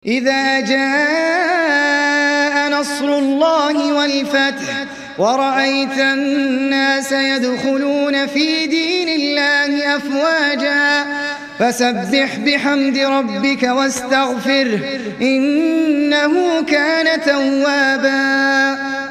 إذا جاء نصر الله والفتح ورأيت الناس يدخلون في دين الله أفواجا فسبح بحمد ربك واستغفره إنه كان توابا.